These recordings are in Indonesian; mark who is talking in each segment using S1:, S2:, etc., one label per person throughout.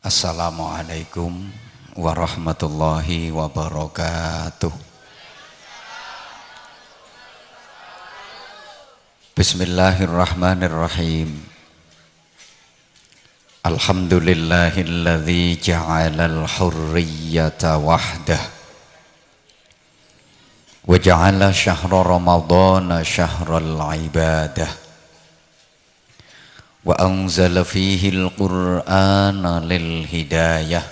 S1: Assalamualaikum warahmatullahi wabarakatuh. Bismillahirrahmanirrahim. Alhamdulillahilladzi ja'alal hurriyata wahdah wa ja'ala syahra ramadhana syahral ibadah wa anzala fihi al-Qur'ana lil hidayah.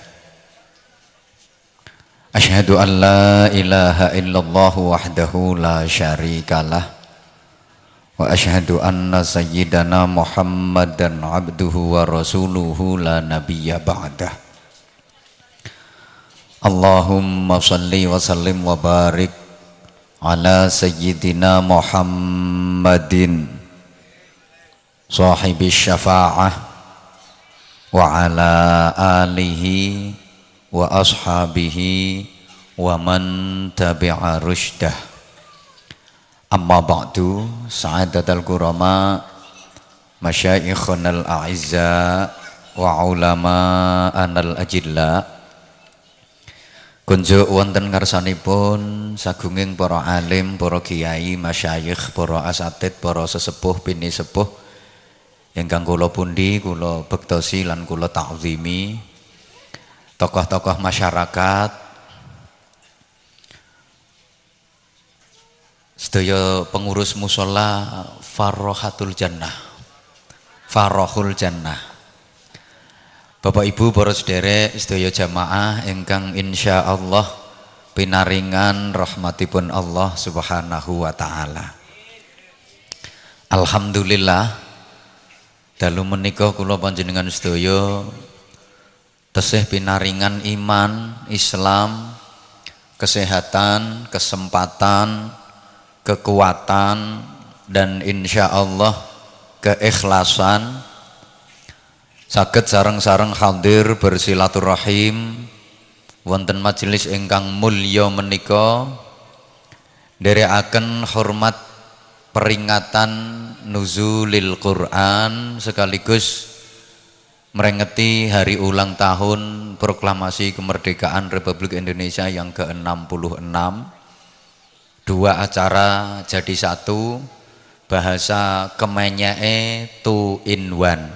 S1: Asyhadu an la ilaha illallah wahdahu la syarikalah wa asyhadu anna sayyidana Muhammadan abduhu wa rasuluhu la nabiyya ba'dah. Allahumma salli wa sallim wa barik ala sayyidina Muhammadin sahibi syafa'ah wa ala alihi wa ashabihi wa man tabi'a rushdah. Amma ba'du, sa'adatal kurama masyaikhunal a'izza wa ulama'anal ajilla. Kunjuk wonten ngarsanipun sagunging para alim, para kiai, masyayikh, para asatid, para sesepuh, bini sepuh ingkang kula pundi, kula bektosi lan kula ta'zimi, tokoh-tokoh masyarakat, sedaya pengurus mushola Farrohatul Jannah, Farrohul Jannah, Bapak Ibu, para sederek, sedaya jamaah ingkang insyaallah pinaringan rahmatipun Allah Subhanahu wa taala. Alhamdulillah dalu menika kula panjenengan sedaya tesih pinaringan iman, Islam, kesehatan, kesempatan, kekuatan, dan insyaallah keikhlasan saged sareng-sareng hadir bersilaturahim wonten majelis ingkang mulya menika, nderekaken hormat peringatan nuzulil Quran sekaligus merengeti hari ulang tahun proklamasi kemerdekaan Republik Indonesia yang ke-66. Dua acara jadi satu, bahasa kemenyae 2 in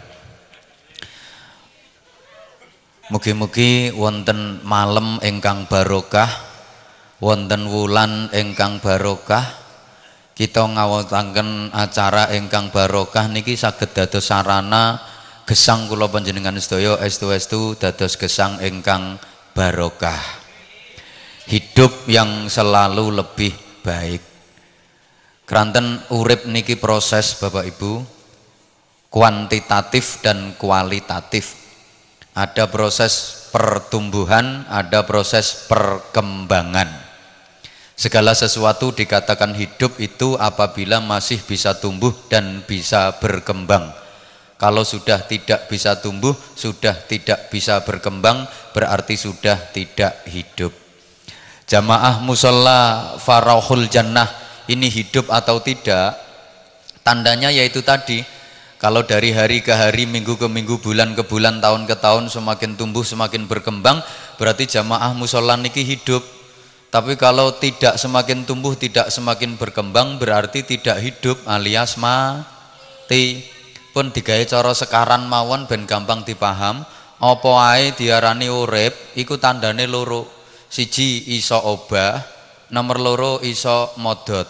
S1: 1. Mugi-mugi wonten malam ingkang barokah, wonten wulan ingkang barokah, kita ngawutaken acara ingkang barokah niki saged dados sarana gesang kula panjenengan sedaya estu-estu dados gesang ingkang barokah, hidup yang selalu lebih baik. Kranten urip niki proses Bapak Ibu, kuantitatif dan kualitatif. Ada proses pertumbuhan, ada proses perkembangan. Segala sesuatu dikatakan hidup itu apabila masih bisa tumbuh dan bisa berkembang. Kalau sudah tidak bisa tumbuh, sudah tidak bisa berkembang, berarti sudah tidak hidup. Jamaah mushola Farrohul Jannah ini hidup atau tidak? Tandanya yaitu tadi, kalau dari hari ke hari, minggu ke minggu, bulan ke bulan, tahun ke tahun semakin tumbuh, semakin berkembang, berarti jamaah mushola niki hidup. Tapi kalau tidak semakin tumbuh, tidak semakin berkembang, berarti tidak hidup alias mati. Pun digawe cara sekaran mawon ben gampang dipaham, apa ae diarani urip iku tandane loro. Siji iso obah, nomor loro iso modot.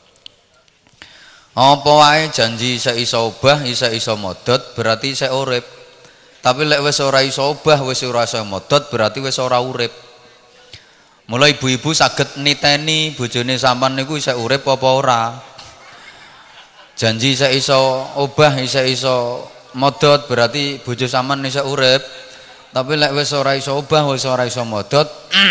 S1: Apa wae janji isih iso obah, isih iso modot, berarti isih urip. Tapi lek wis ora iso obah, wis ora iso modot, berarti wis ora urip. Mulai ibu-ibu saged niteni bojone sampean niku isih urip apa ora. Janji isih iso obah, isih iso modot, berarti bojo sampean isih urip. Tapi lek wis ora iso obah, wis ora iso modot,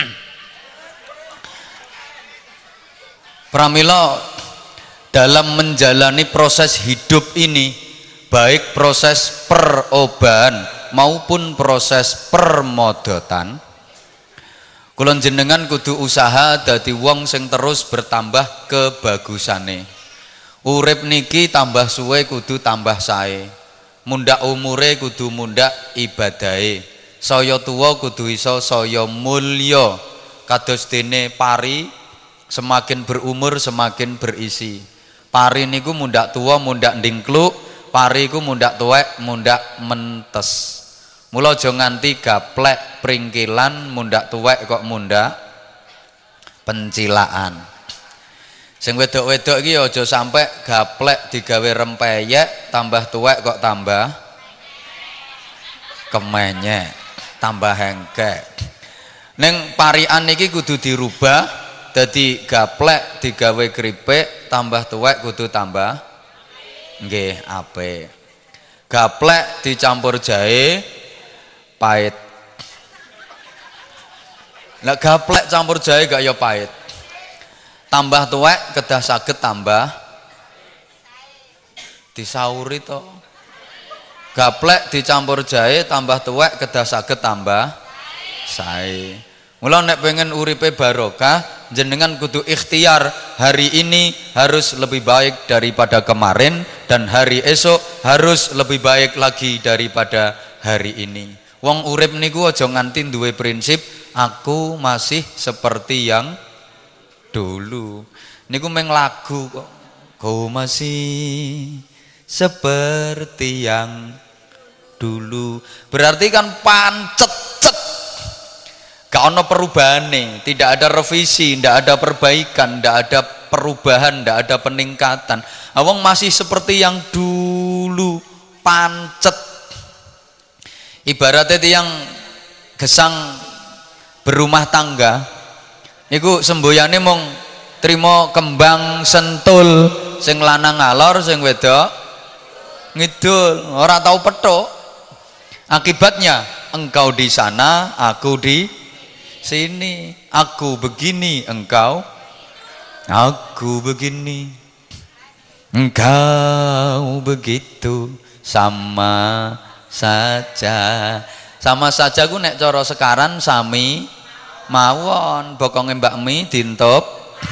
S1: pramila dalam menjalani proses hidup ini, baik proses perobahan maupun proses permodotan, kula jenengan kudu usaha dadi wong sing terus bertambah kebagusane. Urip niki tambah suwe kudu tambah sae. Mundak umure kudu mundak ibadahe. Saya tuwa kudu iso saya mulya. Kados dene pari semakin berumur semakin berisi. Pari niku mundak tuwa mundak ndingkluk, pari iku mundak tuwek mundak mentes. Mula aja nganti gaplek pringkilan mundak tuwek kok mundak pencilaan. Sing wedok-wedok iki aja sampai gaplek digawe rempeyek tambah tuwek kok tambah kemenyek, tambah hengkek. Ning parian iki kudu dirubah dadi gaplek digawe kripik tambah tuwek kudu tambah nggih apik. Gaplek dicampur jahe pahit. Lah gaplek campur jahe gak ya pahit. Tambah tuwek kedah saged tambah disauri to. Gaplek dicampur jahe tambah tuwek kedah saged tambah sae. Mula nek pengen uripe barokah, jenengan kudu ikhtiar hari ini harus lebih baik daripada kemarin dan hari esok harus lebih baik lagi daripada hari ini. Wong urip niku aja nganti duwe prinsip aku masih seperti yang dulu. Niku meng lagu kok. Kau masih seperti yang dulu. Berarti kan pancet. Gak ono perubahane, tidak ada revisi, tidak ada perbaikan, tidak ada perubahan, tidak ada peningkatan. Wong masih seperti yang dulu, pancet. Ibaratnya yang gesang berumah tangga niku semboyane mung trimo kembang sentul, sing lanang ngalor sing wedok ngidul, ora tahu petuk. Akibatnya engkau di sana, aku di sini, aku begini, aku begini, engkau begitu, sama saja. Sama saja ku nek cara sekaran sami mawon. Bokonge Mbak Mi dintup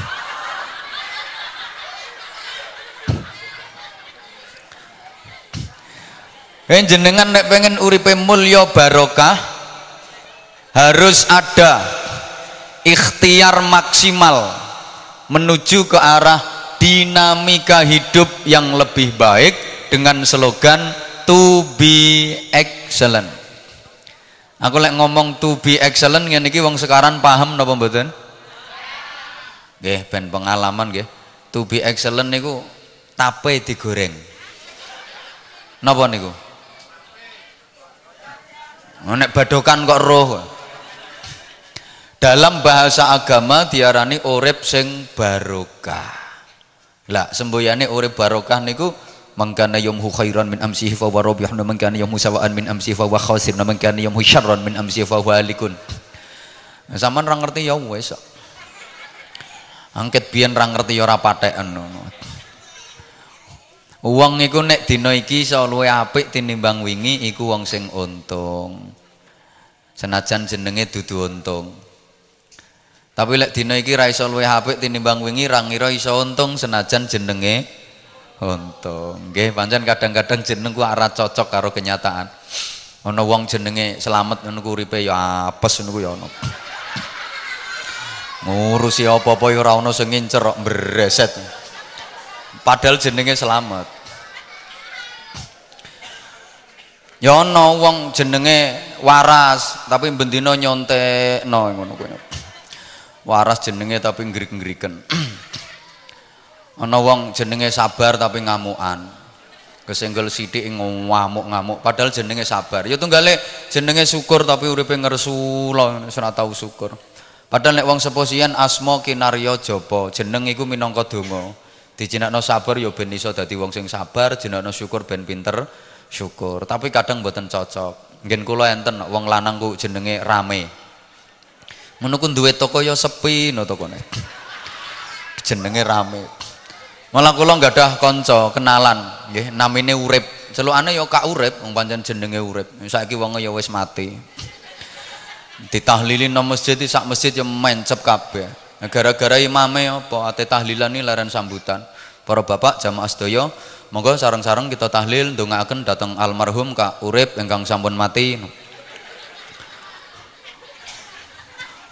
S1: jenengan nek pengen uripe mulya barokah harus ada ikhtiar maksimal menuju ke arah dinamika hidup yang lebih baik dengan slogan to be excellent. Aku lek ngomong to be excellent ngene iki wong sekarang paham napa mboten? Nggih, ben pengalaman nggih. To be excellent niku tape digoreng. Napa niku? Nek badokan kok roh. Dalam bahasa agama diarani urip sing barokah. Lah semboyane urip barokah niku mangkana yumhu khairan min amsihi fa huwa rabih wa mangkana yumhu sawaan min amsihi fa huwa khasir wa mangkana yumhu syarran min amsihi fa huwa halikun. Sampeyan ra ngerti ya wis. Angket biyen ra ngerti ya ora patheken ngono. Wong iku nek dina iki iso luwih apik tinimbang wingi iku wong sing untung. Senajan jenenge dudu untung. Tapi lek dina iki ra iso luwih apik tinimbang wingi ra ngira iso untung senajan jenenge untung. Nggih, pancen kadang-kadang jeneng ku ora cocok karo kenyataan. Ana wong jenenge Slamet ngono ku uripe ya apes ngono ku ya ana. Ngurusi apa-apa ya ora ana sing ngincer kok mbreset. Padahal jenenge Slamet. Ya ana wong jenenge Waras tapi bendina nyontekno ngono kuwi. Waras jenenge tapi ngrik-ngriken. Ana wong jenenge Sabar tapi ngamukan. Kesenggel sithik ngamuk-ngamuk padahal jenenge Sabar. Ya tunggale jenenge Syukur tapi uripe ngersula ora tau syukur. Padahal nek wong seposian asma kinarya japa, jeneng iku minangka donga. Dijenengno Sabar ya ben iso dadi wong sing sabar, jenengno Syukur ben pinter syukur. Tapi kadang mboten cocok. Ngen kula enten wong lanang ku jenenge Rame. Ngono ku duwe toko ya sepi no tokone. Jenenge Rame. Malah kula gadah kanca kenalan nggih namine Urip. Celukane ya Kak Urip, wong pancen jenenge Urip. Saiki wonge ya wis mati. Ditahlili nang masjid sak masjid ya mencep kabeh. Gara-gara imame apa ate tahlilan iki leren sambutan. Para bapak jamaah sedaya, monggo sareng-sareng kita tahlil ndongaaken dhateng almarhum Kak Urip ingkang sampun mati.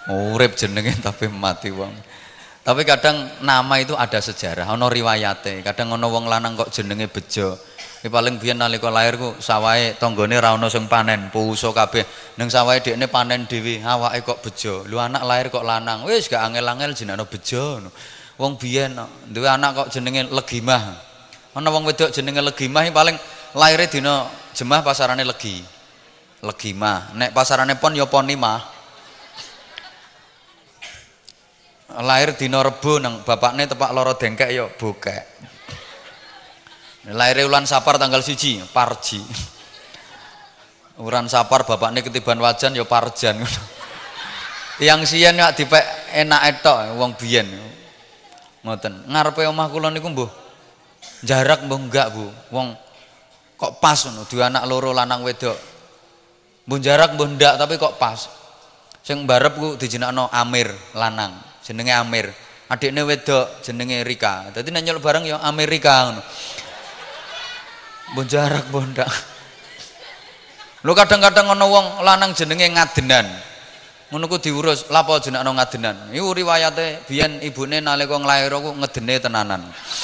S1: Urip jenenge tapi mati wong. Tapi kadang nama itu ada sejarah, ana riwayate. Kadang ana wong lanang kok jenenge Bejo. Iki paling biyen nalika lair ku sawahe tanggane ra ono sing panen, puso kabeh. Ning sawahe dekne panen dhewe, awake kok Bejo. Lu anak lahir kok lanang, wis gak angel-angel jenenge Bejo. Wong biyen duwe anak kok jenenge Legimah. Ana wong wedok jenenge Legimah paling laire dina Jemah pasarane Legi. Legimah. Nek pasarane Pon ya Ponimah. Lahir dina Rebo nang bapakne tepak loro dengkek ya bokek. Lahir ulan Sapar tanggal 1 Parji. Uran Sapar bapakne ketiban wajan ya Parjan. Yang siyen ya dipek enak tok wong biyen. Ngoten. Ngarepe omah kula niku mbuh jarak mbuh enggak, Bu. Wong kok pas ngono, dua anak loro lanang wedok. Mbuh jarak mbuh ndak tapi kok pas. Sing mbarep ku dijenakno Amir lanang, jenenge Amir. Adikne wedok jenenge Rika. Dadi nek nyeluk bareng ya Amerika ngono. Mbuh jarak mbuh ndak. Lho kadang-kadang ana wong lanang jenenge Ngadenan. Ngono ku diurus, lha apa jenakno Ngadenan? Iku riwayate biyen ibune nalika nglair ku ngedene tenanan.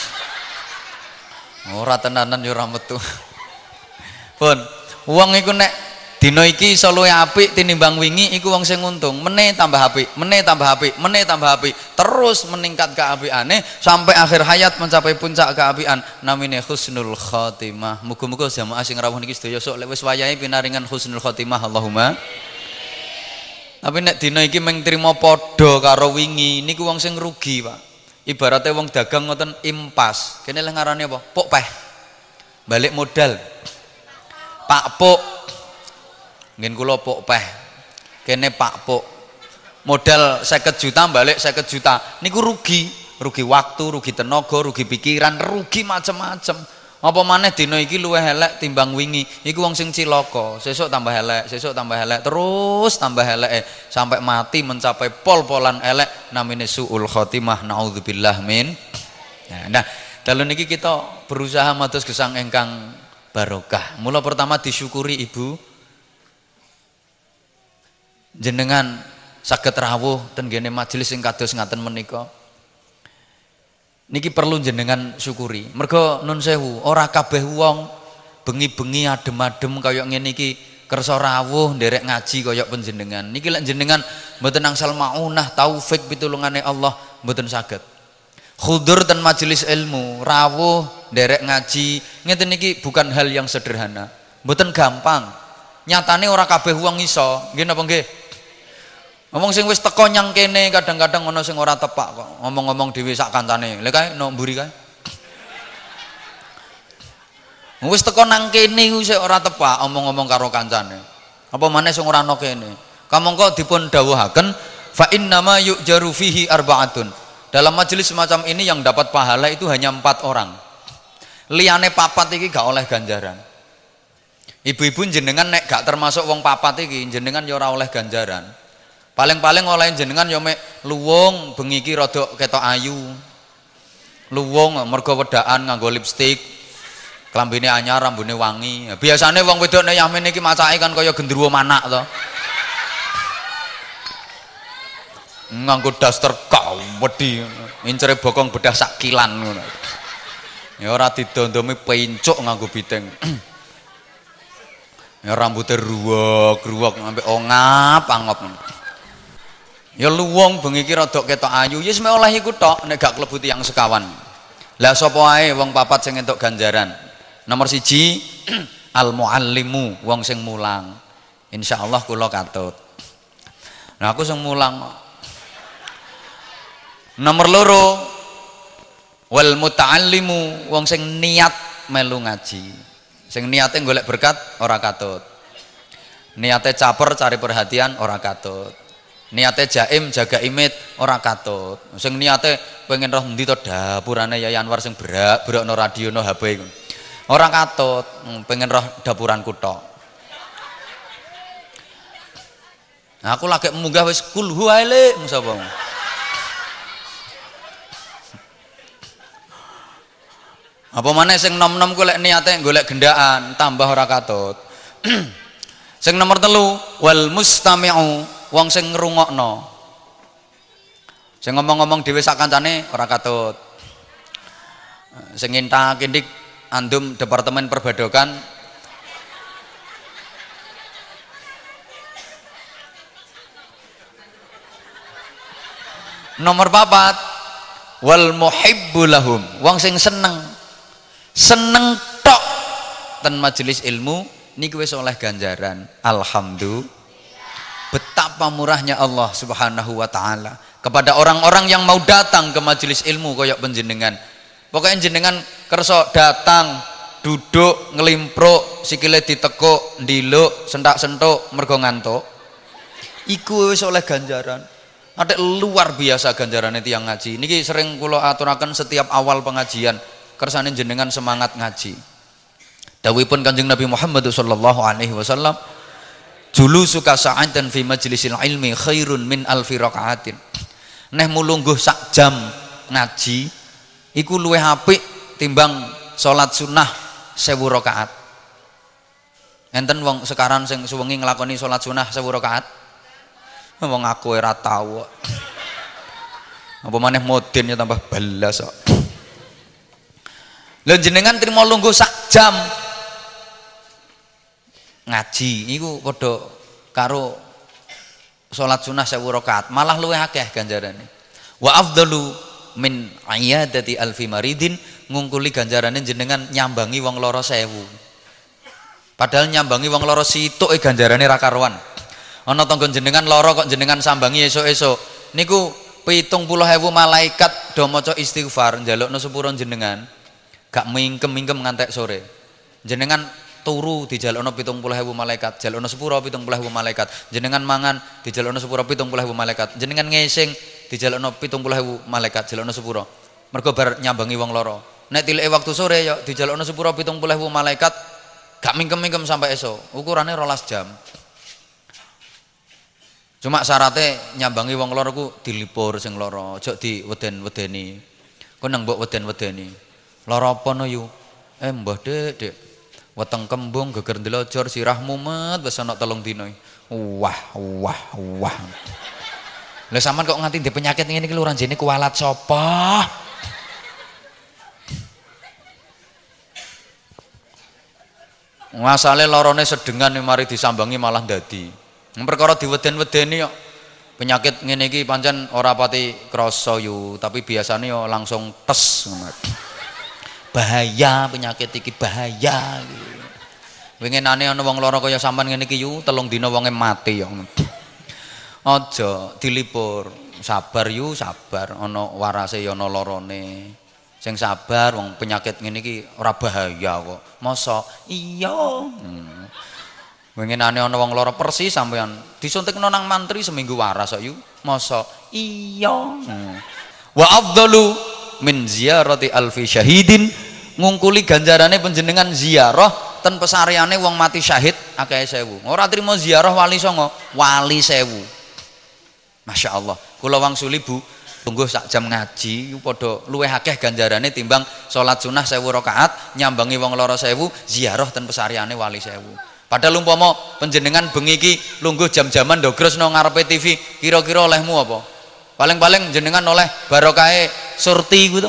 S1: Ora tenanan ya ora metu. Pun, wong iku nek dina iki iso luwih apik tinimbang wingi iku wong sing untung. Meneh tambah apik, meneh tambah apik, meneh tambah apik. Terus meningkat keapiane sampai akhir hayat mencapai puncak keapian. Namine husnul khotimah. Muga-muga jamaah sing rawuh niki sedaya sok lek wis wayahe pinaringan husnul khotimah Allahumma. Tapi nek dina iki mung trima padha karo wingi niku wong sing rugi, Pak. Ibaratnya wong dagang ngoten impas. Kene leh ngarane apa? Pok peh. Balik modal. Pak Pok. Ngen kula pok peh. Kene Pak Pok. Modal 50 juta balik 50 juta. Niku rugi. Rugi waktu, rugi tenaga, rugi pikiran, rugi macam-macam. Apa maneh dina iki luwih elek timbang wingi. Iku wong sing cilaka. Sesuk tambah elek, sesuk tambah elek, terus tambah eleke sampai mati mencapai pol-polan elek namine suul khotimah. Naudzubillah min. Nah, dalu niki kita berusaha mados gesang ingkang barokah. Mula pertama disyukuri Ibu jenengan saged rawuh ten gene majelis sing kados ngaten menika. Niki perlu jenengan syukuri. Mergo nun sewu, ora kabeh wong bengi-bengi adem-adem kaya ngene iki kersa rawuh nderek ngaji kaya panjenengan. Niki lek jenengan mboten angsal maunah taufik pitulungane Allah mboten saged. Khudur ten majelis ilmu, rawuh nderek ngaji, ngeten niki bukan hal yang sederhana. Mboten gampang. Nyatane ora kabeh wong iso. Nggih napa nggih? Ngomong sing wis teko nyang kene kadang-kadang ana sing ora tepak kok. Ngomong-ngomong dhewe sak kancane. Lha kae no mburi kae. Wis teko nang kene ku sik ora tepak omong-omong karo kancane. Apa maneh sing ora ana kene. Kamangka dipun dawuhaken fa innama yu'jaru fihi arba'atun. Dalam majelis semacam ini yang dapat pahala itu hanya 4 orang. Liyane papat iki gak oleh ganjaran. Ibu-ibu jenengan nek gak termasuk wong papat iki jenengan ya ora oleh ganjaran. Paling-paling oleh jenengan ya mek luwung bengi iki rada ketok ayu. Luwung mergo wedaan nganggo lipstik. Klambine anyar, rambune wangi. Biasane wong wedok nek yamin iki macake kan kaya gendruwo manak to. Nganggo daster kawedi, incere bokong bedah sak kilan ngono. Ya ora didondomi pencuk nganggo biteng. Ya rambute ruwek-ruwek sampe ongap-angop. Ya luwung bengi iki rada ketok ayu, ya mek oleh iku tok nek gak klebu tiyang sekawan. Lah sapa ae wong papat sing entuk ganjaran. Nomor 1 al muallimu, wong sing mulang. Insyaallah kula katut. Nah aku sing mulang. Nomor 2 wal muta'allimu, wong sing niat melu ngaji. Sing niate golek berkat ora katut. Niate caper cari perhatian ora katut. Niate jaim jaga imit ora katut. Sing niate pengen roh endi to dapurane Yai Anwar sing berak-berakno radio no HP iku. Ora katut, pengen roh dapuranku tok. Nah, aku lagi munggah wis kulhu ae le sapa. Apa maneh sing nom-nom ku lek niate golek gendaan tambah ora katut. Sing nomor 3 wal mustami'u, wong sing ngrungokno. Sing ngomong-ngomong dhewe sak kancane ora katut. Sing ngintak indik andum Departemen Perbadokan nomor 4 wal muhibbu lahum, wong sing seneng tok ten majelis ilmu niki wis oleh ganjaran. Alhamdulillah, betapa murahnya Allah Subhanahu wa taala kepada orang-orang yang mau datang ke majelis ilmu koyok panjenengan. Pokoknya jenengan kerso datang duduk ngelimpro sikile ditekuk ndiluk sentak-sentuk mergo ngantuk iku wis oleh ganjaran. Ada luar biasa ganjarannya tiang ngaji. Niki sering kula aturaken setiap awal pengajian kersane jenengan semangat ngaji. Dawuhipun Kanjeng Nabi Muhammad sallallahu alaihi wasallam, julusuka sa'atan fi majlisil ilmi khairun min alfi rakaatin. Neh mulungguh sak jam ngaji iku luwih apik timbang salat sunnah 1000 rakaat. Enten wong sekarang sing suwengi nglakoni salat sunnah 1000 rakaat. Wong aku ora tau. Apa maneh modin ya tambah balas kok. Lha jenengan trimo lungguh sak jam ngaji iku padha karo salat sunah 1000 rakaat, malah luwih akeh ganjarane. Wa afdalu min iyadati alfi maridin, ngungkuli ganjarane jenengan nyambangi wong lara 1000. Padahal nyambangi wong lara situk ganjarane ra karuan. Ana tangga jenengan lara kok jenengan sambangi esuk-esuk niku 70.000 malaikat do maca istighfar njalukna sepuro jenengan. Gak mingkem-mingkem ngantek sore. Jenengan turu dijalukna 70.000 malaikat, jalukna sepuro 70.000 malaikat. Jenengan mangan dijalukna sepuro 70.000 malaikat. Jenengan ngesing dijalukna 70.000 malaikat, jalukna sepuro. Mergo bar nyambangi wong lara. Nek tilike waktu sore ya dijalukna sepuro 70.000 malaikat, gak mingkem-mingkem sampai esuk. Ukurane 12 jam. Cuma syaratnya nyambangi wong lara ku dilipur sing lara, aja diweden-wedeni. Kok nang mbok weden-wedeni. Lara apa no yu? Mbah Dek, weteng kembung geger ndelojor sirah mumet wis ana 3 dina. Wah. Lah sampean kok nganti ndek penyakit ngene iki lho ranjene kualat sapa? Masale larane sedengan mari disambangi malah dadi. Perkara diweden-wedeni kok penyakit ngene iki pancen ora pati krasa yu, tapi biasanya yo langsung tes. Bahaya penyakit iki bahaya. Winginane ana wong lara kaya sampean ngene iki yu 3 dina wonge mati yo. Aja dilipur, sabar yu, sabar. Ana warase yo ana larane. Sing sabar wong penyakit ngene iki ora bahaya kok. Mosok iya. Winginane ana wong lara persis sampean disuntikno nang mantri seminggu waras kok yu. Mosok iya. Wa afdalu min ziyarati alfi syahidin, ngungkuli ganjarane panjenengan ziarah ten pesareane wong mati syahid akeh 1000. Ora trimo ziarah wali songo, wali 1000. Masya Allah. Kula wangsuli Bu, tunggu sak jam ngaji padha luwih akeh ganjarane timbang salat sunah 1000 rakaat, nyambangi wong lara 1000, ziarah ten pesareane wali 1000. Padahal umpama panjenengan bengi iki lungguh jam-jaman ndogros nang ngarepe TV, kira-kira olehmu apa? Paling-paling jenengan oleh barokahe surti ku to.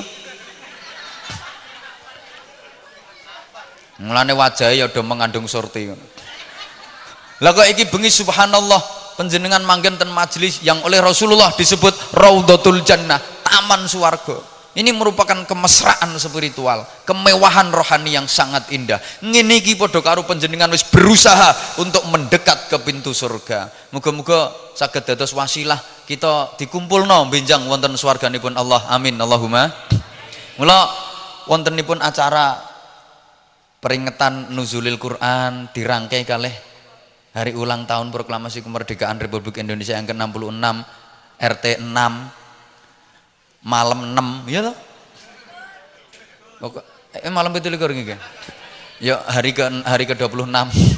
S1: Mulane wajahe ya do mengandung surti ngono. Lah kok iki bengi subhanallah panjenengan manggen ten majelis yang oleh Rasulullah disebut Raudhatul Jannah, taman swarga. Ini merupakan kemesraan spiritual, kemewahan rohani yang sangat indah. Ngene iki padha karo panjenengan wis berusaha untuk mendekat ke pintu surga. Muga-muga saged dados wasilah kita dikumpulno benjang wonten swarganipun Allah. Amin Allahumma. Mula wontenipun acara peringatan nuzulil Quran dirangkai kalih hari ulang tahun proklamasi kemerdekaan Republik Indonesia yang ke-66 RT 6 malam 6 ya toh? Malam 17 iki. Ya hari ke-26.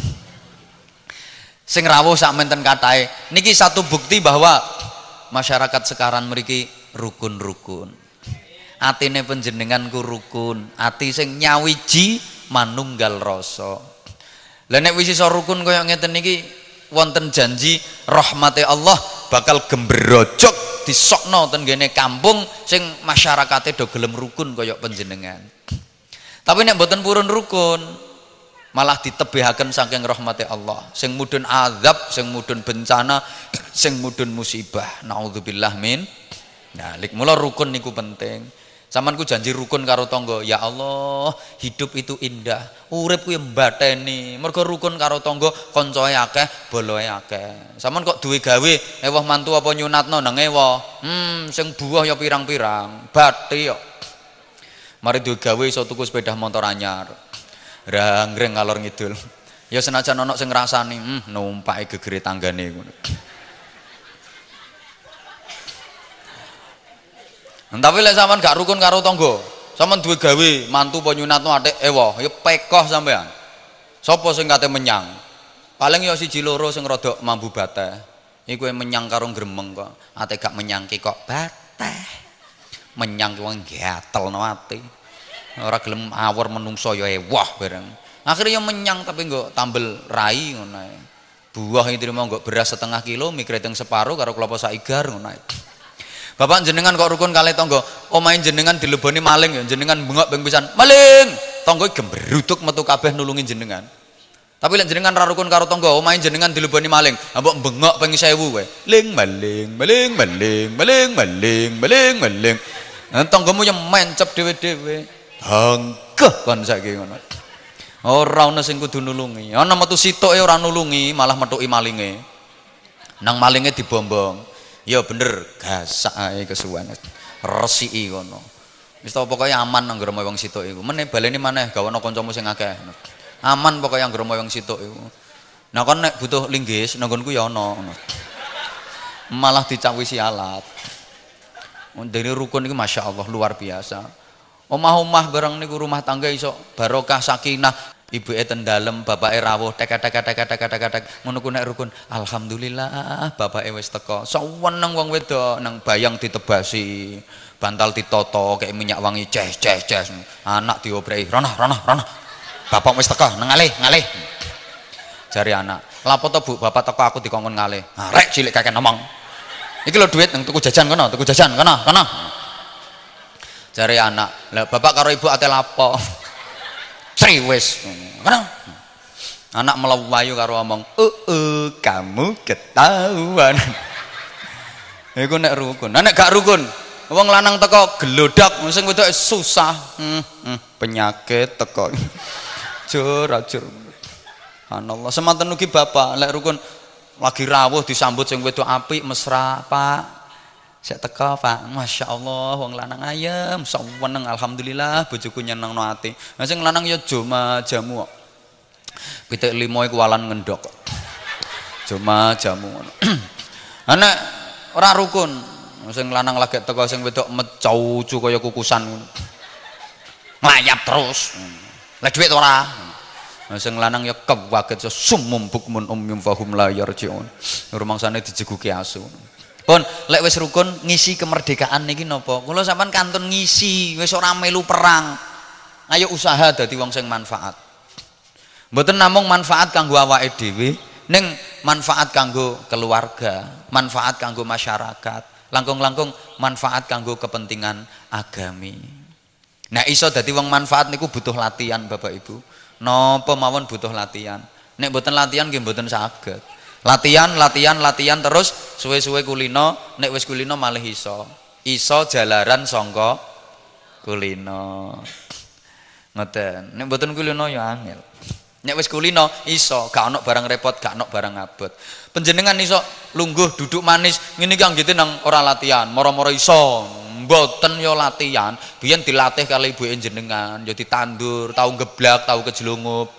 S1: Sing rawuh sak menten katahe. Niki satu bukti bahwa masyarakat sekarang mriki rukun-rukun. Atine panjenengan ku rukun, ati sing nyawiji manunggal rasa. Lah nek wis iso rukun kaya ngeten niki wonten janji rahmate Allah bakal gembrojok disokno ten ngene kampung sing masyarakate do gelem rukun kaya panjenengan. Tapi nek mboten purun rukun, malah ditebihaken saking rahmati Allah. Sing mudhun azab, sing mudhun bencana, sing mudhun musibah. Nauzubillah min. Nah, lik mula rukun niku penting. Samanku janji rukun karo tangga. Ya Allah, hidup itu indah. Urip kuwi mbateni. Mergo rukun karo tangga, kancae akeh, boloe akeh. Saman kok duwe gawe, ewah mantu apa nyunatno nang ewah. Sing buah ya pirang-pirang. Bathi yo. Mari duwe gawe iso tuku sepeda motor anyar. Rangreng ngalor ngidul. Ya senajan ana sing ngrasani, numpake gegere tanggane ngono. Tapi lek sampean gak rukun karo tangga, sampean duwe gawe mantu apa nyunatno atik ewa, ya pekoh sampean. Sapa sing kate menyang? Paling ya siji loro sing rada mambu bateh. Iku menyang karo gremeng kok. Ate gak menyangke kok bateh. Menyang wong gatelno ati. Ora gelem awor menungso ya ewah bareng. Akhirnya ya menyang tapi nggo tambel rai ngono ae. Buah iki trimo nggo beras setengah kilo, mie kreteng separo karo klopo saigar ngono ae. Bapak jenengan kok rukun kalih tangga, omahe jenengan dileboni maling ya jenengan bengok ping pisan. Maling. Tangga gembruduk metu kabeh nulungi jenengan. Tapi lek jenengan ra rukun karo tangga, omahe jenengan dileboni maling, mbok bengok ping 1000 kowe. Ling maling, maling, maling, maling, maling, maling, maling. Tanggamu yang mencep dhewe-dhewe. Hangkeh kon saiki ngono. Ora ana sing kudu nulungi. Ana metu sitoke ora nulungi, malah metuki malinge. Nang malinge dibombong. Ya bener, gasak ae kesuwen. Resiki ngono. Wis tau pokoke aman nang nggremo wong situk iku. Meneh baleni maneh gawono kancamu sing akeh. Aman pokoke nang nggremo wong situk iku. Nah kon nek butuh linggis nang nggonku ya ana ngono. Malah dicawisi alat. Dari rukun ini masya Allah luar biasa. Omah-omah bareng niku rumah tangga iso barokah sakinah. Ibu eten dalem, bapak rawuh tek ngono ku nek rukun. Alhamdulillah bapak wis teko. Seneng wong wedok nang bayang ditebasi, bantal ditoto kayak minyak wangi ces. Anak diobrei, rono. Bapak wis teko nang ngalih. Jari anak, lapo to Bu, bapak teko aku dikongkon ngalih. Rek cilik kakek ngomong. Iki lho duit nang tuku jajan kono. Jare anak, "Lah bapak karo ibu ate lapo?" Sri wis. Kono. Anak melayu karo omong, kamu ketahuan." Iku nek rukun. Nek gak rukun, wong lanang teko gelodak, sing wedok susah. Penyakit teko. Jur. Subhanallah. Semanten ugi bapak, lek rukun lagi rawuh disambut sing wedok apik mesra, Pak. Sek teko, Pak. Masya Allah wong lanang ayem, seneng alhamdulillah bojoku nyenengno ati. Lah sing lanang ya jamu kok. Pitik limo iku walan ngendhok. Jamu ngono. Ana ora rukun. Sing lanang lagi teko sing wedok mecaucu kaya kukusan ngono. Nglayap terus. Lah dhuwit ora. Sing lanang ya kewaget sumum bukmun umyum fahum la yarjiun. Rumangsane dijeguki asu. Pun lek wis rukun ngisi kemerdekaan niki napa? Kula sampean kantun ngisi, wis ora melu perang. Ayo usaha dadi wong sing manfaat. Mboten namung manfaat kanggo awake dhewe, ning manfaat kanggo keluarga, manfaat kanggo masyarakat, langkung-langkung manfaat kanggo kepentingan agami. Nah iso dadi wong manfaat niku butuh latihan Bapak Ibu. Napa mawon butuh latihan. Nek mboten latihan nggih mboten saged. Latihan terus suwe-suwe kulino, nek wis kulino malih iso jalaran sangka kulino. Ngoten. Nek mboten kulino ya angel. Nek wis kulino iso, gak ono barang repot, gak ono barang abot. Panjenengan iso lungguh duduk manis ngene iki anggite nang ora latihan, moro-moro iso. Mboten yo latihan, biyen dilatih kali ibuke jenengan, yo ditandur, tau geblak, tau kejlungup.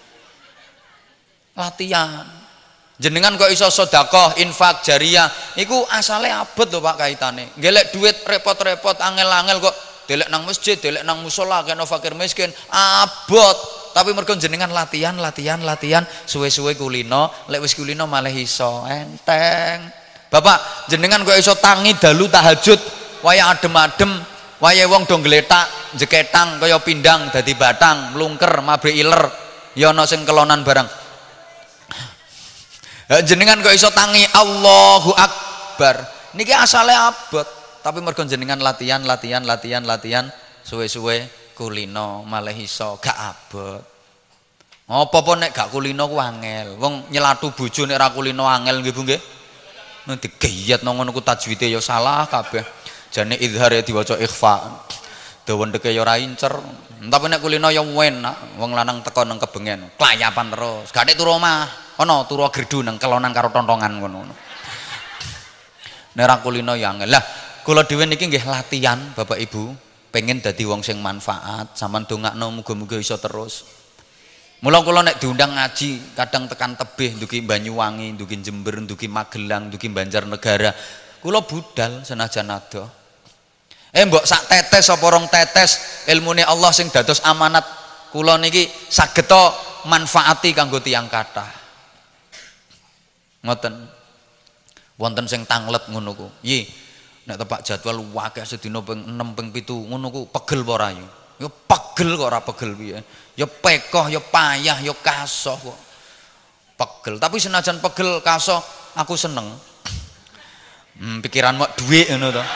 S1: Latihan. Jenengan kok iso sedekah, infak jariyah, iku asale abot lho Pak kaitane. Ngelek duit repot-repot, angel-angel kok delek nang masjid, delek nang musala kena fakir miskin, abot. Tapi mergo jenengan latihan, suwe-suwe kulino, lek wis kulino malah iso enteng. Bapak, jenengan kok iso tangi dalu tahajud, waya adem-adem, waya wong do ngletak, jeketang kaya pindang dadi batang, mlungker, mabrik iler, ya ana sing kelonan barang. Jenengan kok iso tangi Allahu Akbar, niki asale abot, tapi mergo jenengan latihan suwe-suwe kulino malah iso gak abot. Apa-apa nek gak kulino ku angel. Wong nyelatu bojo nek ra kulino angel nggih Bu nggih. Nanti geyat nang ngono ku tajwide ya salah kabeh. Jane izhar ya diwaca ikhfa. Dawa ndeke ya ora incer. Tapi nek kulino ya enak. Wong lanang teko nang kebengen, klayapan terus. Gak nek turu omah, ana turu gerdu nang kelonan karo tontongan ngono. Nek ra kulino ya angel. Lah, kula dhewe niki nggih latihan Bapak Ibu, pengen dadi wong sing manfaat, sampean dongakno muga-muga iso terus. Mula kula nek diundang ngaji, kadang tekan tebih, ndugi Banyuwangi, ndugi Jember, ndugi Magelang, ndugi Banjarnegara. Kula budal senajan ado. Mbok sak tetes apa rong tetes ilmune Allah sing dados amanat kula niki saged to manfaati kanggo tiyang kathah. Ngoten. Wonten sing tanglet ngono ku. Yi, nek tepak jadwal akeh sedina ping 6 ping 7 ngono ku pegel apa ora ya? Ya pegel kok ora pegel piye. Ya pekoh, ya payah, ya kasoh kok. Pegel, tapi senajan pegel kasoh aku seneng. Pikiran mak dhuwit ngono to.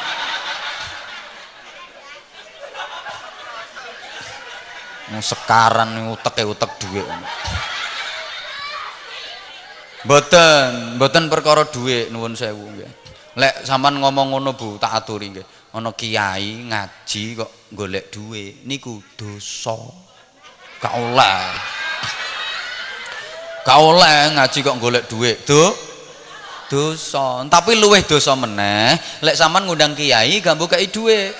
S1: Sekaran utek dhuwit. Mboten perkara dhuwit nuwun sewu nggih. Lek sampean ngomong ngono Bu, tak aturi nggih. Ana kiai ngaji kok golek dhuwit niku dosa. Gak oleh. Gak oleh ngaji kok golek dhuwit. Dosa. Tapi luwih dosa meneh lek sampean ngundang kiai gak mbok kei dhuwit.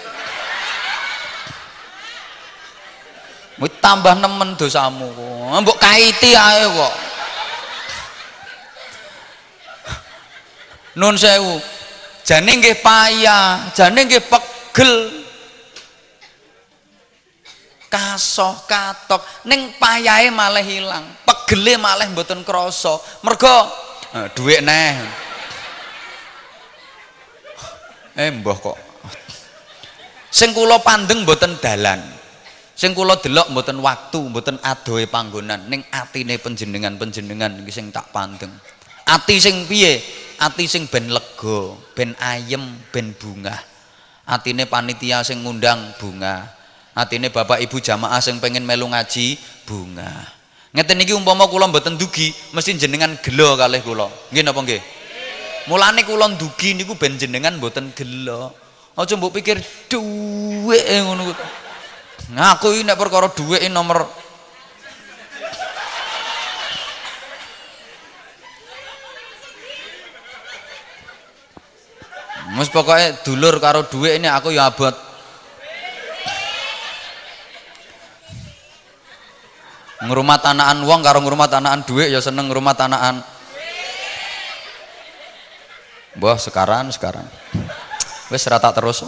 S1: Wis tambah nemen dosamu kok. Mbok kaiti ae kok. Nun sewu. Jane nggih payah, jane nggih pegel. Kasoh katok ning payahe malah hilang, pegele malah mboten krasa. Mergo dhuwit neh. Mbah kok. Sing kula pandeng mboten dalan. Sing kula delok mboten waktu, mboten adohe panggonan, ning atine panjenengan iki sing tak pandeng. Ati sing piye? Ati sing ben lega, ben ayem, ben bungah. Atine panitia sing ngundang bunga. Atine bapak ibu jamaah sing pengen melu ngaji bunga. Ngeten iki umpama kula mboten dugi, mesti jenengan gelo kalih kula. Nggih napa nggih? Mulane kula dugi niku ben jenengan mboten gelo. Aja mbok pikir dhuwit ngono. Ngaku iki nek perkara dhuwit nomor Mas pokoknya dulur karo dhuwit ini aku ya abot. Ngrumat anakan wong karo ngrumat anakan dhuwit ya seneng ngrumat anakan. Mbah sekarang. Wis ora tak terus.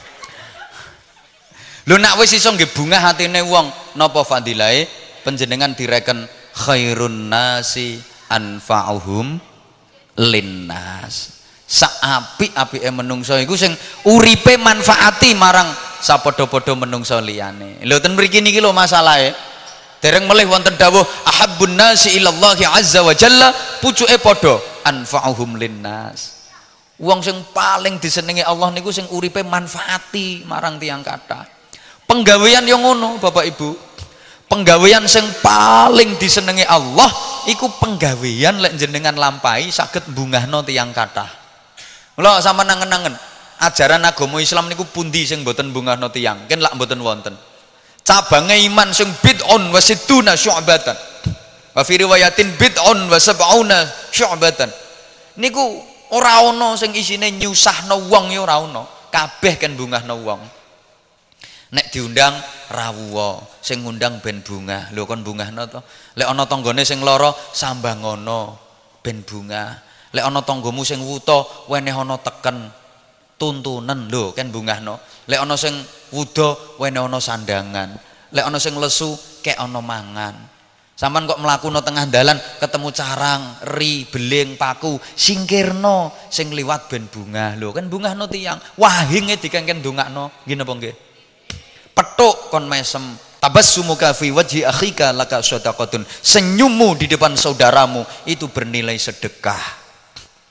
S1: Lho nek wis iso nggih bungah hatine wong, napa fadilahe panjenengan direken khairun nasi anfa'uhum linnas. Saapik-apike menungso iku sing uripe manfaati marang sapadha-padha menungso liyane. Lho ten mriki niki lho masalahe. Dereng melih wonten dawuh ahabbun nasi ilallahi azza wa jalla, pucuke padha anfa'uhum linnas. Wong sing paling disenengi Allah niku sing uripe manfaati marang tiyang kathah. Penggawean yang ngono Bapak Ibu. Penggawean sing paling disenengi Allah iku penggawean lek jenengan lampahi saged mbungahno tiyang kathah. Mula sampeyan nangen-nangen ajaran agama Islam niku pundi sing mboten mbungahno tiyang? Ken lak mboten wonten. Cabange iman sing bid'un wa sittuna syu'batan. Wa fi riwayatin bid'un wa sab'una syu'batan. Niku ora ana sing isine nyusahno wong ya ora ana. Kabeh ken mbungahno wong. Nek diundang rawuh, sing ngundang ben bungah. Lho kon bungahno to. Lek ana tanggane sing lara sambangono ben bungah. Lek ana tanggamu sing wuta weneh ana teken tuntunen lho kan bungahno. Lek ana sing wuda weneh ana sandangan. Lek ana sing lesu kek ana mangan. Sampeyan kok mlaku nang tengah dalan ketemu carang, ri, beling, paku, singkirno sing liwat ben bungah. Lho kan bungahno tiyang. Wahinge dikengken ndongakno. Nggih napa nggih? Petuk kon mesem. Tabassumuka fi wajhi akhika laka shadaqatun. Senyummu di depan saudaramu itu bernilai sedekah.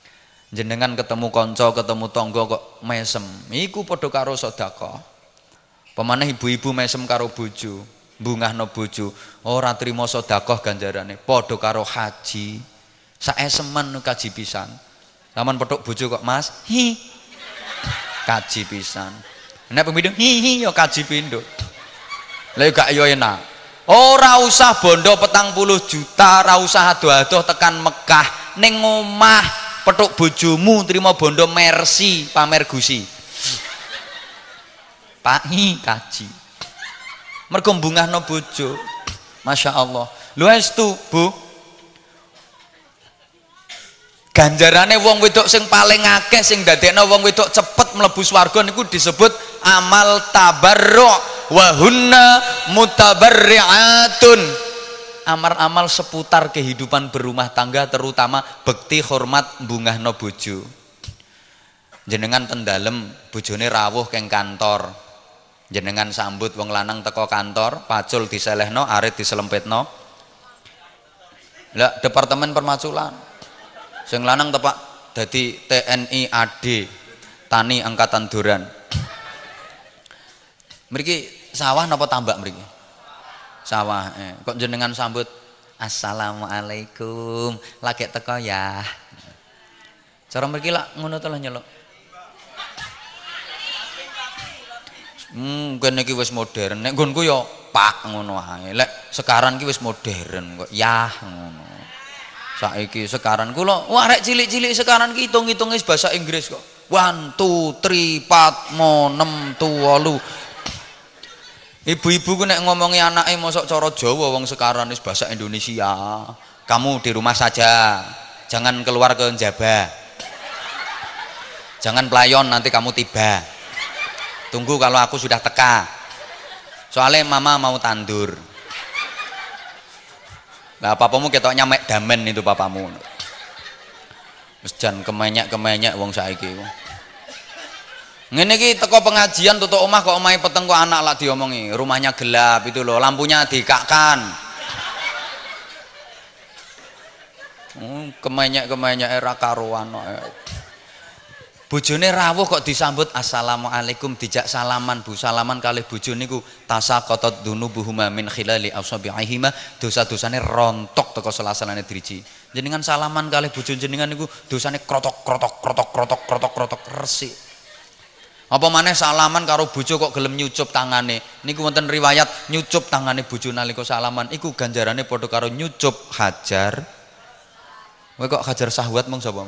S1: Jenengan ketemu kanca, ketemu tangga kok mesem, iku padha karo sedekah. Pemane ibu-ibu mesem karo bojo, bungahno bojo, ora trima sedekah ganjarane, padha karo haji. Saesemen kaji pisan. Lamun petuk bojo kok, Mas, hi. Kaji pisan. Nek pemindho hi ya kaji pindho. Lah gak yo enak. Ora usah bondo 40 juta, ora usah adoh-adoh tekan Mekah, ning omah petuk bojomu trima bondo Mercy pamer gusi. Pak kaji. Mergo bungahno bojo. Masya Allah. Lho estu, Bu. Ganjarane wong wedok sing paling akeh sing dadekno wong wedok cepet mlebu swarga niku disebut amal tabarru' wa hunna mutabarri'atun. Amal-amal seputar kehidupan berumah tangga, terutama bekti hormat bungahno bojo. Jenengan tendalem bojone rawuh keng kantor, jenengan sambut wong lanang teko kantor, pacul diselehno, arit diselempetno. Lah departemen permaculan sing lanang tepak dadi TNI AD, Tani Angkatan Duran. Mriki sawah napa tambak mriki? Sawah. Kok jenengan sambut assalamualaikum, lagi teko ya. Cara mriki lak ngono to lho nyeluk. Kene iki wis modern. Nek nggonku ya Pak ngono ae. Lek sekarang iki wis modern kok ya ngono. Saiki sekarang kula wah rek cilik-cilik sekarang ki hitung-hitung wis bahasa Inggris kok. 1 2 3 4 5 6 7 8. Ibu-ibu ku nek ngomongi anake mosok cara Jawa wong sekarang wis bahasa Indonesia. Kamu di rumah saja. Jangan keluar ke njaba. Jangan pelayon nanti kamu tiba. Tunggu kalau aku sudah teka. Soalnya mama mau tandur. Lah papamu ketoknya mek damen itu papamu. Wis jan kemenyek-kemenyek wong saiki. Ngene iki teko pengajian tutuk omah kok omahe peteng kok anak lak diomongi, rumahnya gelap itu loh, lampunya dikakkan. Kemenyek-kemenyek era karuan. Bojone rawuh kok disambut assalamualaikum, dijak salaman, Bu. Salaman kalih bojo niku tasaqatat dunubuhuma min khilali asabi'ihima, dosa-dosane rontok teko sela-selane driji. Jenengan salaman kalih bojo jenengan niku dosane krotok resik. Apa maneh salaman karo bojo kok gelem nyucup tangane. Niku wonten riwayat nyucup tangane bojo nalika salaman iku ganjarane padha karo nyucup hajar. Kowe kok hajar syahwat mong sapa?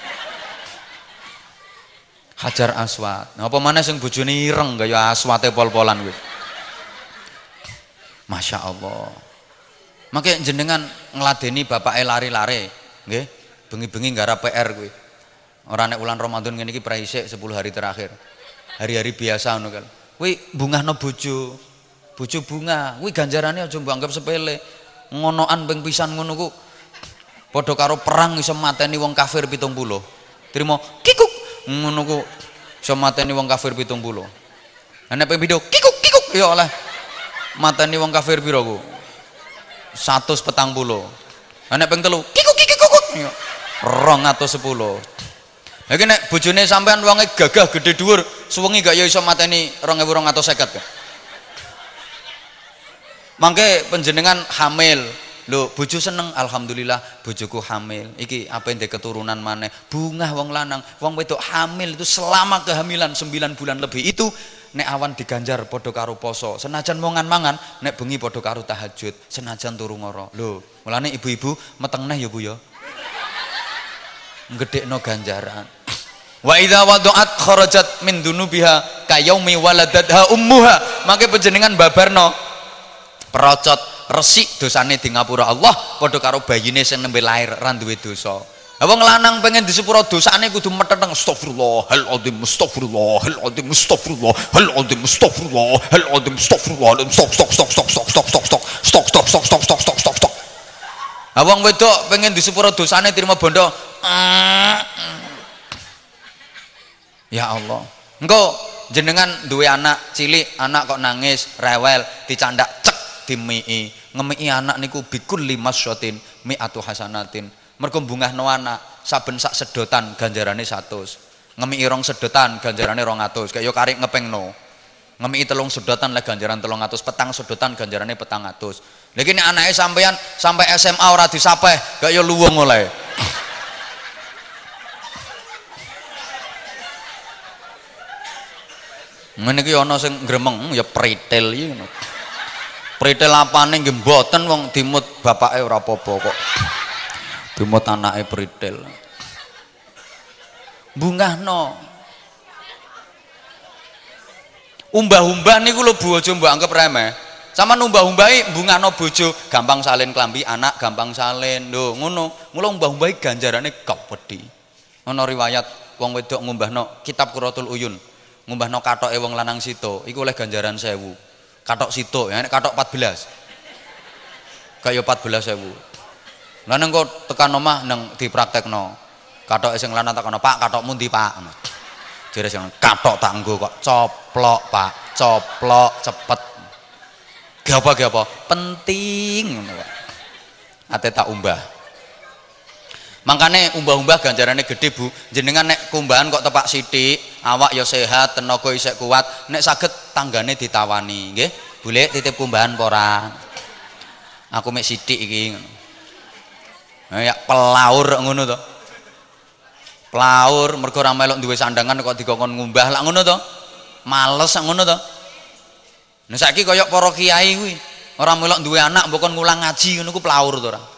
S1: Hajar aswad. Nah, apa maneh sing bojone ireng kaya aswate pol-polan kuwi. Masya Allah. Mangke jenengan ngladeni bapake lari-lari, nggih. Bengi-bengi nggarap PR kuwi. Ora nek wulan Ramadan ngene iki praisik 10 hari terakhir. Hari-hari biasa ngono kan. Kuwi bungahno bojo. Bojo bunga, kuwi ganjarane aja mbok anggap sepele. Ngonoan ping pisan ngono ku padha karo perang iso mateni wong kafir 70. Trimo kikuk ngono ku iso mateni wong kafir 70. Nek ping pindho kikuk ya oleh mateni wong kafir pira ku? 140. Nek ping telu kikuk ya 210. Lagi nek bojone sampean wonge gagah gede dhuwur, suwengi gak ya iso mateni 2250 kan. Mangke panjenengan hamil. Lho, bojo seneng, alhamdulillah bojoku hamil. Iki apa ndek keturunan maneh. Bungah wong lanang, wong wedok hamil itu selama kehamilan 9 bulan lebih itu nek awan diganjar padha karo poso. Senajan mangan-mangan, nek bengi padha karo tahajud, senajan turu ngoro. Lho, mulane ibu-ibu meteng neh ya Bu ya. Gedekno ganjaran. Wa idza wada'at kharajat min dunubiha kayaumi waladatha ummuha. Mangke panjenengan babarno perocot resik dosane di ngapura Allah padha karo bayine sing nembe lair ra duwe dosa. Wong lanang pengen disepuro dosane kudu meteng astagfirullahaladzim astagfirullahaladzim astagfirullahaladzim astagfirullahaladzim astagfirullahaladzim stok. Wong wedok pengen disepuro dosane terima bondo. Ya Allah. Engko jenengan duwe anak cilik, anak kok nangis, rewel, dicandak cek dimii. Ngemii anak niku bikul 5 syatin mi'atu hasanatin. Mergo bungahno anak, saben sak sedotan ganjarane 100. Ngemiki rong sedotan ganjarane 200. Kaya yo karek ngepengno. Ngemiki 3 sedotan lah ganjaran 300, petang sedotan ganjarane 400. Lha iki nek anake sampean sampai SMA ora disapeh, gak yo luwung oleh. Ngene iki ana sing gremeng ya pritil iki ngono. Pritil apane nggih mboten wong dimut bapake ora apa-apa kok. Dimut anake pritil. Bungahno. Umbah-umbah niku lho Bu aja mbok anggap remeh. Sama umbah-umbahi bungahno bojo, gampang salin klambi anak, gampang salin. Lho ngono. Mula umbah-umbahi ganjarane gawedhi. Ana riwayat wong wedok ngumbahno kitab Quratul Uyun. Ngumbahno katoke wong lanang sito, iku oleh ganjaran 1000. Katok sito, ya nek katok 14. Kaya 14.000. Lah neng kok tekan omah nang dipraktekno. Katoke sing lanang takono, "Pak, katokmu ndi, Pak?" Jare sing katok tak nggo kok. Coplok, Pak. Coplok cepet. Ge apa? Penting ngono kok. Ate tak umbah. Makanya umbah-umbah ganjarannya gede Bu. Jenengan nek kumbahan kok tepak sithik, awak ya sehat, tenaga isih kuat, nek saged tanggane ditawani, nggih. Boleh titip kumbahan apa ora? Aku mek sithik iki ngono. Ya pelaur ngono to. Pelaur mergo ora melok duwe sandangan kok dikongkon ngumbah lak ngono to. Males ngono to. Nah saiki kaya para kiai kuwi, ora melok duwe anak mbok kon ngulang ngaji ngono ku pelaur to ora.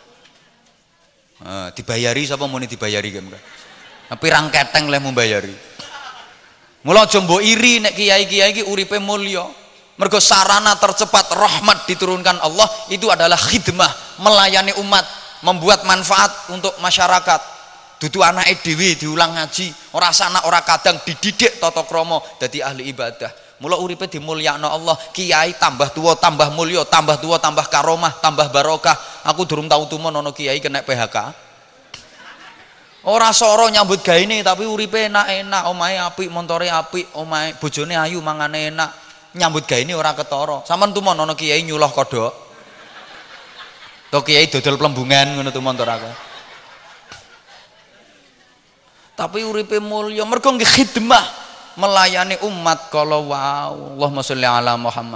S1: Dibayari sapa muni dibayari kan. Pirang keteng leh membayari. Mula aja mbok iri nek kiai-kiai iki uripe mulya. Mergo sarana tercepat rahmat diturunkan Allah itu adalah khidmah, melayani umat, membuat manfaat untuk masyarakat. Dudu anake dhewe diulang ngaji, ora sanak ora kadang dididik tata krama dadi ahli ibadah. Mula uripe dimulyakno Allah, kiai tambah tua tambah mulya, tambah tua tambah karomah, tambah barokah. Aku durung tau tumen ana kiai kena PHK. Ora soro nyambut gaene tapi uripe enak-enak, omahe apik, montore apik, omahe bojone ayu, mangane enak. Nyambut gaene ora ketara. Sampeyan tumen ana kiai nyuluh kodhok. To kiai dodol plembungan ngono tumen to aku. Tapi uripe mulya mergo nggih khidmah, melayani umat kalau wow. Allahumma sholli ala Muhammad.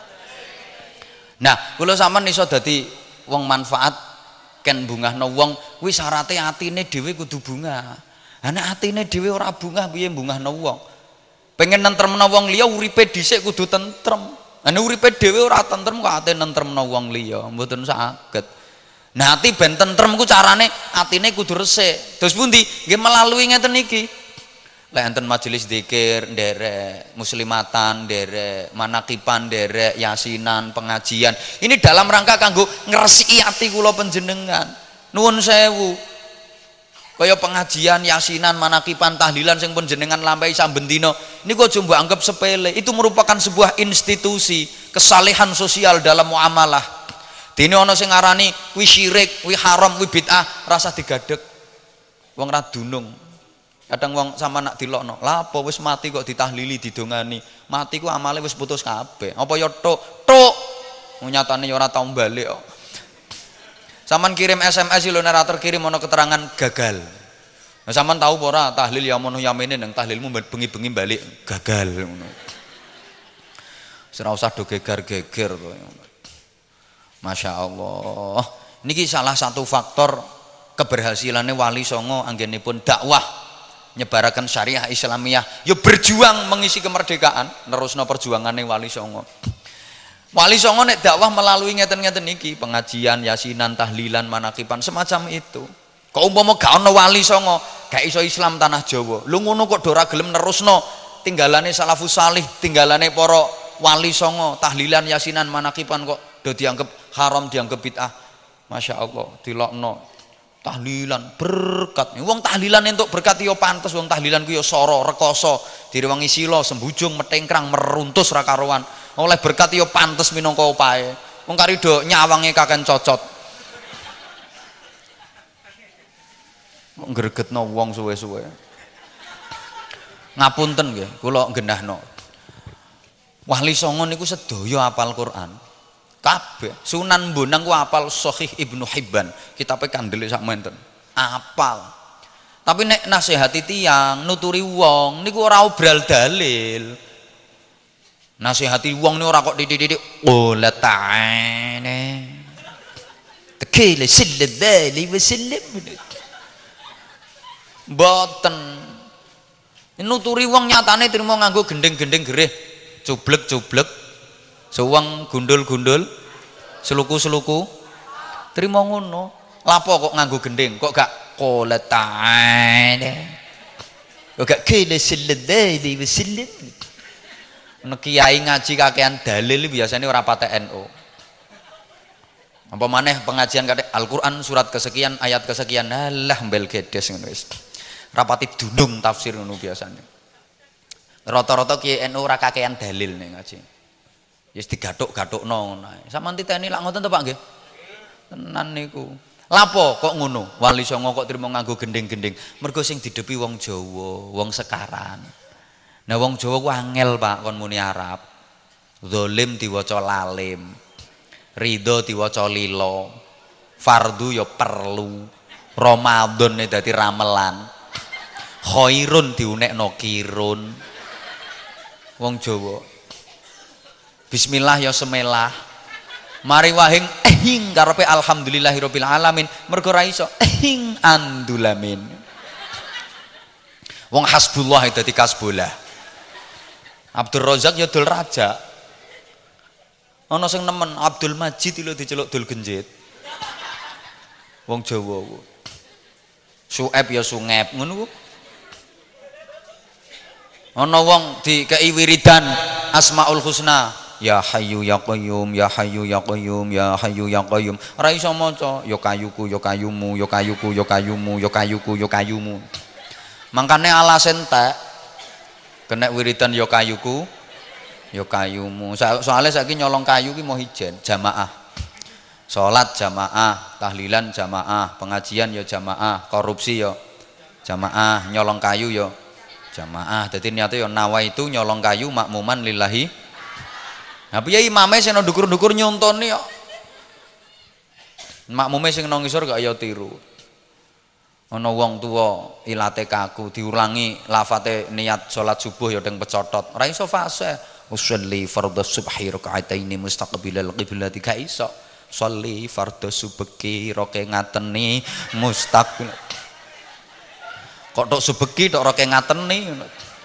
S1: Nah, kula sampean iso dadi wong manfaat ken bungahno wong kuwi syaraté atine dhewe kudu bungah. Ha nek atine dhewe ora bungah piye bungahno wong? Pengen nentremno wong liya uripe dhisik kudu tentrem. Lah nek uripe dhewe ora tentrem kok ate nentremno wong liya, mboten saged. Nah ati ben tentrem ku carane atine kudu resik. Terus pundi? Nggih melalui ngeten iki. Lek enten majelis zikir nderek, muslimatan nderek, manakipan nderek, yasinan, pengajian. Ini dalam rangka kanggo ngresiki ati kula panjenengan. Nuwun sewu. Kaya pengajian, yasinan, manakipan, tahlilan sing panjenengan lampahi saben dina niku aja mbok anggap sepele. Itu merupakan sebuah institusi kesalehan sosial dalam muamalah. Dene ana sing ngarani kuwi syirik, kuwi haram, kuwi bid'ah, rasa digadeg. Wong ra dunung. Kadang wong sama nak dilokno, lah apa wis mati kok ditahlili didongani. Mati ku amale wis putus kabeh. Apa ya tok? Nyatane ya ora tau balik kok. Saman kirim SMS lho nek terkirim ana keterangan gagal. Nah saman tahu apa ora tahlil ya mono yamene nang tahlilmu bengi-bengi balik gagal ngono. Ora usah do geger-geger to. Masya Allah. Niki salah satu faktor keberhasilannya Wali Songo anggenipun dakwah nyebaraken syariah Islamiyah. Yo berjuang mengisi kemerdekaan, nerusno perjuangannya Wali Songo. Wali Songo nek dakwah melalui ngeten-ngeten niki, pengajian, yasinan, tahlilan, manakipan semacam itu. Kok umpama gak ono Wali Songo, gak iso Islam tanah Jawa. Lu ngono kok ora gelem nerusno tinggalane salafus salih, tinggalane para Wali Songo, tahlilan, yasinan, manakipan kok do dianggap haram, dianggap bid'ah. Masya Allah, dilokno tahlilan berkat. Wong tahlilan entuk berkat yo pantes, wong tahlilan ku yo soro, rekoso, direwangi sila, sembujung, metengkrang, meruntus ra karuan. Oleh berkat yo pantes minangka opahe. Wong kari do nyawange kaken cocot. Ngregetno wong suwe-suwe. Ngapunten nggih, kula genahno. Wali Songo niku sedaya apal Quran. Kabeh. Sunan Bonang ku apal, Sahih Ibnu Hibban. Kitabe kandele sak menten. Apal. Tapi nek nasihati tiyang, nuturi wong niku ora obral dalil. Nasihati wong niku ora kok titik-titik la ta'ala. Tekile sallallahu wasallam. Mboten. Nuturi wong nyatane trimo nganggo gendeng-gendeng gereh, cublek-cublek, suweng gundul-gundul, seluku-seluku. Trimo ngono. Lapo kok nganggo gendeng? Kok gak qala ta'ala? Kok gak qala sallallahu wasallam? Nek kiai ngaji kakean dalil biasanya ora patek NU. Apa maneh pengajian kate Al-Qur'an surat kesekian ayat kesekian alah mbel gedes ngono wis. Rapati dunung tafsir ngono biasanya. Rata-rata kiai NU ora kakean dalil ning ngaji. Wis digathuk-gathukno ngono ae. Sampeyan titeni lak ngoten to Pak nggih? Tenan niku. Lapo kok ngono? Wali Songo kok trimo nganggo gending-gending. Mergo sing didepi wong Jawa, wong sekaran. Nah wong Jawa ku angel Pak kon muni Arab. Zalim diwaca lalim. Ridho diwaca lilo. Fardu ya perlu. Ramadan dadi ramelan. Khairun diunekno kirun. Wong Jawa. Bismillah ya semelah. Mari wahing ehing karepe alhamdulillahirabbil alamin mergo ra iso ehing andulamin. Wong hasbullah dadi kasbullah. Abdul Razak ya dul raja. Ana sing nemen Abdul Majid lho diceluk dul genjit. Wong Jawa ku. Sueb ya sungep ngono ku. Ana wong dikei wiridan Asmaul Husna. Ya Hayyu ya Qayyum, ya Hayyu ya Qayyum, ya Hayyu ya Qayyum. Ora iso maca ya kayuku ya kayumu, ya kayuku ya kayumu, ya kayuku ya kayumu. Mangkane alasen entek kena wiridan ya kayuku ya kayumu. Soalnya saiki nyolong kayu ki mau hijen jamaah. Salat jamaah, tahlilan jamaah, pengajian ya jamaah, korupsi ya jamaah, nyolong kayu ya jamaah. Dadi niate ya nawaitu nyolong kayu makmuman lillahi. Nah piye imame sing nang ndukur-ndukur nyontoni kok. Makmume sing nang ngisor gak ya tiru. Ana wong tuwa ilate kaku diulangi lafate niat salat subuh ya teng pecotot. Ora iso fase. Usolli fardhu subhi raka'ataini mustaqbilal qiblati ka iso. Sholli fardhu subhi roke ngateni mustaqbil. Kok tok subeki tok roke ngateni ngono.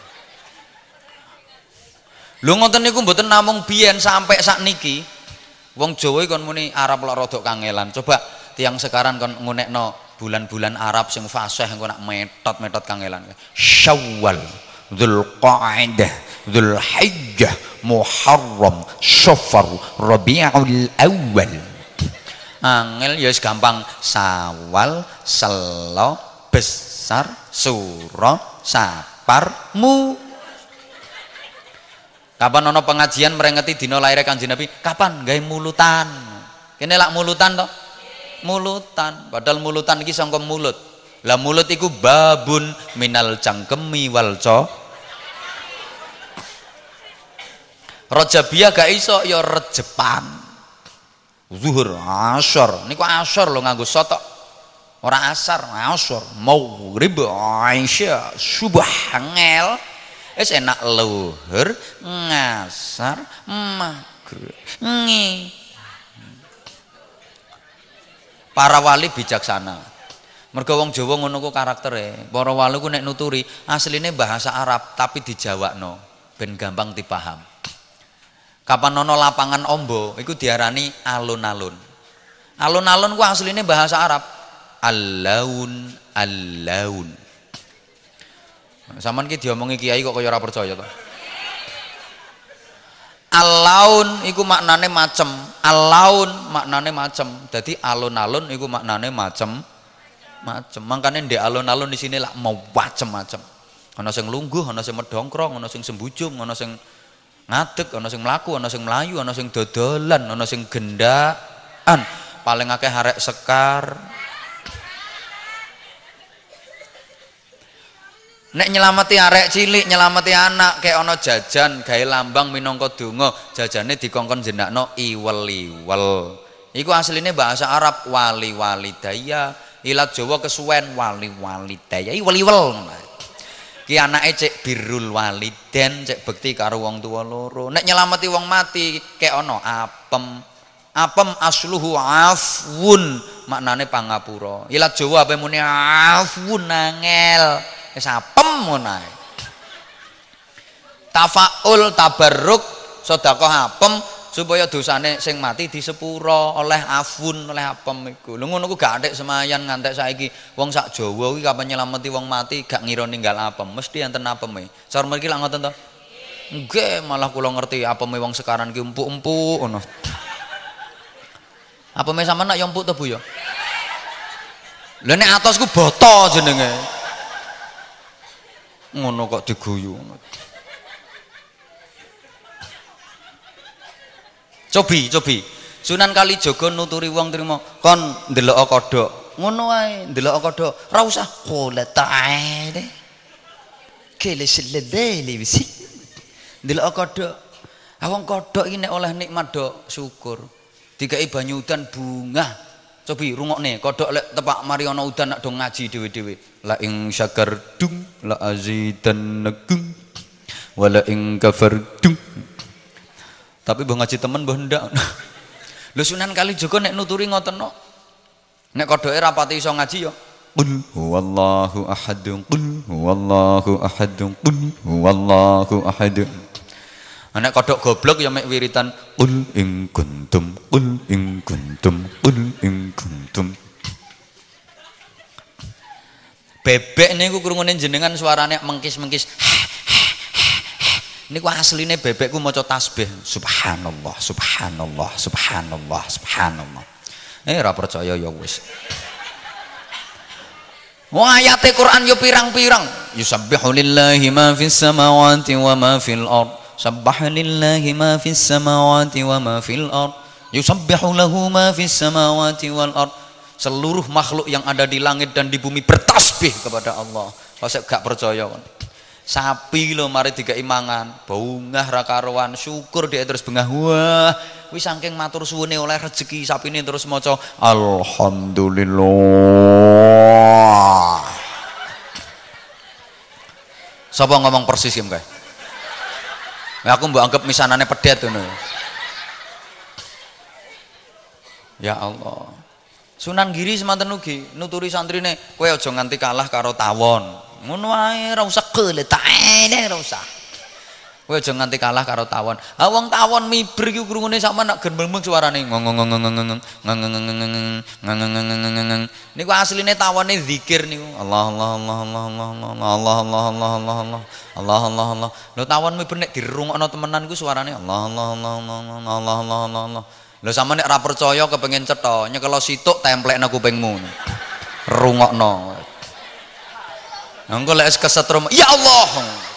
S1: Lho ngoten niku mboten namung biyen sampai sakniki. Wong Jawa kon muni Arab lak rodok kangelan. Coba tiang sekarang kon ngunekno bulan-bulan Arab sing fasih engko nak metot-metot kangelan. Syawal, Dzulqa'dah, Dzulhijjah, Muharram, Safar, Rabiul Awal. Angel ya wis gampang. Sawal, Selo, Besar, Suro, Sapar, Mu. Kapan ono pengajian merengeti dina lahir Kanjeng Nabi? Kapan gawe mulutan? Kene lak mulutan to? Mulutan. Padahal mulutan iki sangka mulut. Lah mulut iku babun minal cangkemi wal co. Rajabiyah gak iso ya rejepan. Zuhur, asar. Niku asar lho nganggo sotok. Ora asar, asar. Maghrib, isya, subuh ngel. Wis enak luhur, ngasar, maghrib, ngi. Para wali bijaksana. Mergo wong Jawa ngono ku karaktere. Para wali ku nek nuturi asline bahasa Arab tapi dijawakno ben gampang dipaham. Kapan ana lapangan ombo iku diarani alun-alun. Alun-alun ku asline bahasa Arab. Al-laun, al-laun. Saman ki diomongi kiai kok kaya ora percaya to. Al-laun iku maknane macem, al-laun maknane macem. Dadi alun-alun iku maknane macem. Mangkane ndek alun-alun di sini lak mau macem-macem. Ana sing lungguh, ana sing medhongkrong, ana sing sembujung, ana sing ngadeg, ana sing mlaku, ana sing mlayu, ana sing dodolan, ana sing gendaan. Paling akeh arek sekar. Nek nyelamati arek cilik, nyelamati anak, kayak ono jajan, gawe lambang minangka donga, jajane dikongkon jenakno iwel-iwel. Iku asline bahasa Arab wali-walidaya, ilat Jawa kesuwen wali-walidaya, iwel-iwel. Ki anake cek birrul waliden, cek bekti karo wong tuwa loro. Nek nyelamati wong mati, kayak ono apem. Apem asluhu afwun, maknane pangapura. Ilat Jawa apa muni afwun angel. Wis apem ngono ae. Tafaul tabarruk sedekah apem supaya dosane sing mati disepuro oleh afun oleh apem iku. Lho ngono ku gak antek semayan ngantek saiki. Wong sak Jawa kuwi kapan nyelameti wong mati gak ngira ninggal apem, mesti enten apeme. Cara mriki lak ngoten to. Nggih, malah kula ngerti apeme wong sekarang ki empuk-empuk ngono. Apeme sampean nak yo empuk to Bu ya? Lha nek atos ku boto jenenge. Ngono kok diguyu. Cobi. Sunan Kalijaga nuturi wong trimo, kon ndelok kodhok. Ngono wae, ndelok kodhok. Ora usah qul ta'ala. Kele selebele wisi. Ndelok kodhok. Awang kodhok iki nek oleh nikmat do syukur. Dikai banyu udan bunga. Cobi rungokne, kodhok lek tepak mari ana udan nak do ngaji dhewe-dhewe. La ing syakardum la azidannakum wa la ing kafardum. Tapi mbah ngaji temen mbah ndak. Lho Sunan Kalijaga nek nuturi ngoten no. Nek kodhoke rapati iso ngaji ya. Qul huwallahu ahad, qul huwallahu ahad, qul huwallahu ahad. Nek kodhok goblok ya mek wiritan qul ing kuntum, qul ing kuntum, qul ing kuntum. Bebek niku krungune jenengan suarane mengkis-mengkis. Niku asline bebekku maca tasbih. Subhanallah, subhanallah, subhanallah, subhanallah. Ora percaya ya wis. Wah ayate Quran yo pirang-pirang. Yusabbihu lillahi ma fis samawati wa ma fil ard. Sabbaha lillahi ma fis samawati wa ma fil ard. Yusabbihu lahu ma fis samawati wal ard. Seluruh makhluk yang ada di langit dan di bumi bertasbih kepada Allah. Kalau gak percaya kan. Sapi lo mari dikai mangan, bungah ra karuan, syukur dia terus bengah. Wah, wis saking matur suwune oleh rezeki sapine terus maca alhamdulillah. Sapa ngomong persis ya mbak? Aku mbok anggap misanane pedet ngono. Ya Allah. Sunan Giri semanten ugi nuturi santrine, kowe aja nganti kalah karo tawon. Ngono wae ora usah keletaene ora usah. Kowe aja nganti kalah karo tawon. Ha wong tawon miber iki krungune sampean nak gendeng suarane ngong. Niku asline tawone zikir niku. Allah Allah Allah Allah Allah Allah Allah Allah Allah Allah Allah Allah Allah. Lho tawon miber nek dirungokno temenan iku suarane Allah Allah Allah Allah Allah Allah Allah Allah. Lho sampean nek ora percaya kepengin cetha, nyekelo situk templekno kupingmu. Rungokno. Engko lek kesetrum, ya Allah.